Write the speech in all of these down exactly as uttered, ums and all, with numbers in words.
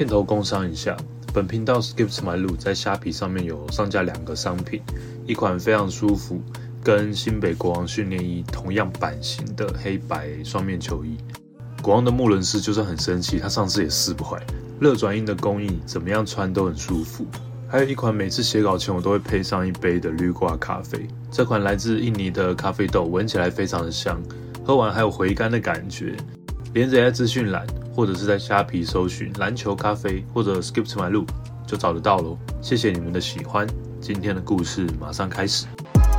片头工商一下，本频道 Skip to my loop 在虾皮上面有上架两个商品，一款非常舒服，跟新北国王训练衣同样版型的黑白双面球衣。国王的穆伦斯就算很生气，他上次也撕不坏。热转印的工艺，怎么样穿都很舒服。还有一款每次写稿前我都会配上一杯的绿挂咖啡，这款来自印尼的咖啡豆，闻起来非常的香，喝完还有回甘的感觉。连着在资讯栏，或者是在虾皮搜寻篮球咖啡或者 Skip to my loop 就找得到咯。谢谢你们的喜欢，今天的故事马上开始。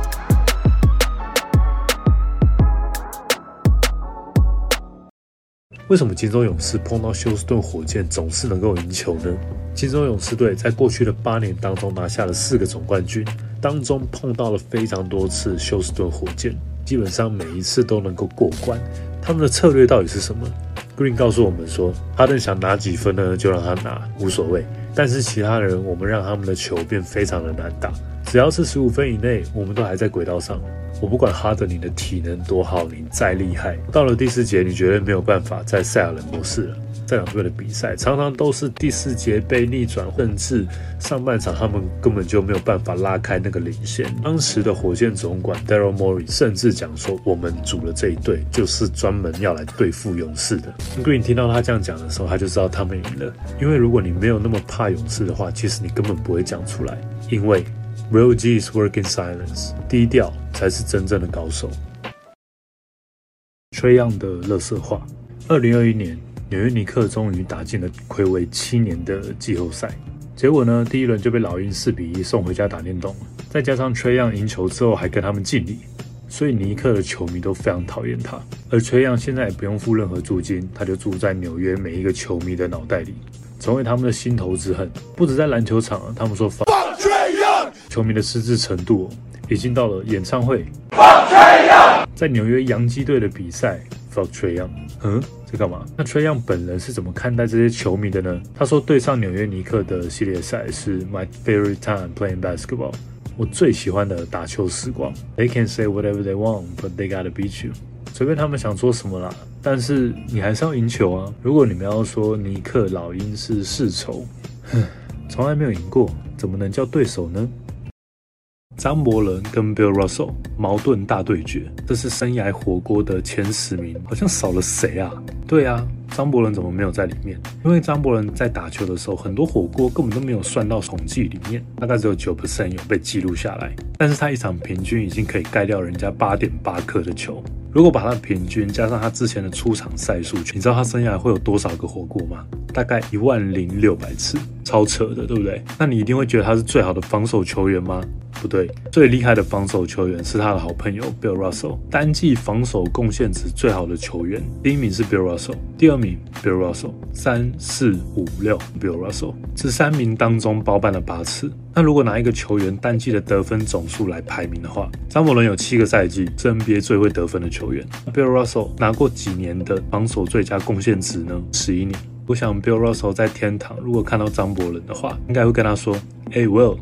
为什么金州勇士碰到休斯顿火箭总是能够赢球呢？金州勇士队在过去的八年当中拿下了四个总冠军，当中碰到了非常多次休斯顿火箭，基本上每一次都能够过关。他们的策略到底是什么？ Green 告诉我们说，哈登想拿几分呢，就让他拿，无所谓。但是其他人，我们让他们的球变非常的难打，只要是十五分以内，我们都还在轨道上。我不管哈登你的体能多好，你再厉害，到了第四节，你绝对没有办法在赛亚人模式了。这两队的比赛常常都是第四节被逆转，甚至上半场他们根本就没有办法拉开那个领先。当时的火箭总管 Daryl Morey 甚至讲说，我们组了这一队就是专门要来对付勇士的。Green 听到他这样讲的时候，他就知道他们赢了。因为如果你没有那么怕勇士的话，其实你根本不会讲出来。因为 Real G's work in silence， 低调才是真正的高手。Trae Young的垃圾话。二零二一年。纽约尼克终于打进了睽违七年的季后赛，结果呢，第一轮就被老鹰四比一送回家打电动了。再加上Trae Young赢球之后还跟他们敬礼，所以尼克的球迷都非常讨厌他。而Trae Young现在也不用付任何租金，他就住在纽约每一个球迷的脑袋里，成为他们的心头之恨。不止在篮球场，他们说 Fuck Trae Young， 球迷的失智程度、哦、已经到了演唱会 Fuck Trae Young， 在纽约洋基队的比赛 Fuck Trae Young。嗯，在干嘛？那Trae Young本人是怎么看待这些球迷的呢？他说，对上纽约尼克的系列赛是 my favorite time playing basketball， 我最喜欢的打球时光。They can say whatever they want, but they gotta beat you。随便他们想说什么啦，但是你还是要赢球啊。如果你们要说尼克老鹰是世仇，从来没有赢过，怎么能叫对手呢？张伯伦跟 Bill Russell 矛盾大对决，这是生涯火锅的前十名，好像少了谁啊？对啊，张伯伦怎么没有在里面？因为张伯伦在打球的时候，很多火锅根本都没有算到统计里面，大概只有 百分之九 有被记录下来。但是他一场平均已经可以盖掉人家 八点八颗的球。如果把他的平均加上他之前的出场赛数，你知道他生涯会有多少个火锅吗？大概一万零六百次，超扯的，对不对？那你一定会觉得他是最好的防守球员吗？不对，最厉害的防守球员是他的好朋友 Bill Russell， 单季防守贡献值最好的球员，第一名是 Bill Russell， 第二名 Bill Russell， 三四五六 Bill Russell， 这三名当中包办了八次。那如果拿一个球员单季的得分总数来排名的话，张伯伦有七个赛季是 N B A 最会得分的球员。Bill Russell 拿过几年的防守最佳贡献值呢？十一年。我想 Bill Russell 在天堂如果看到张伯伦的话，应该会跟他说 Hey Will。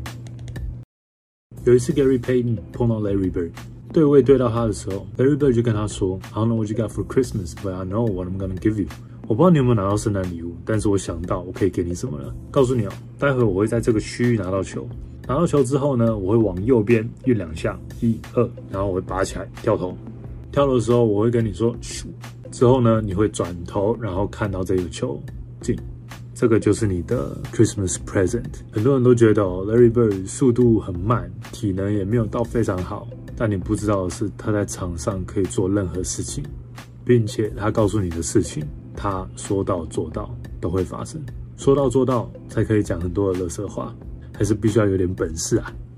有一次 Gary Payton 碰到 Larry Bird， 对位对到他的时候， Larry Bird 就跟他说 I don't know what you got for Christmas, but I know what I'm gonna give you。 我不知道你有没有拿到圣诞礼物，但是我想到我可以给你什么了。告诉你哦，待会我会在这个区域拿到球，拿到球之后呢，我会往右边运两下，一二，然后我会拔起来跳投，跳投的时候我会跟你说咻，之后呢你会转头，然后看到这个球进。这个就是你的 Christmas present。 很多人都觉得、哦、Larry Bird 速度很慢，体能也没有到非常好，但你不知道的是他在场上可以做任何事情，并且他告诉你的事情，他说到做到都会发生。说到做到才可以讲很多的垃圾话，还是必须要有点本事啊。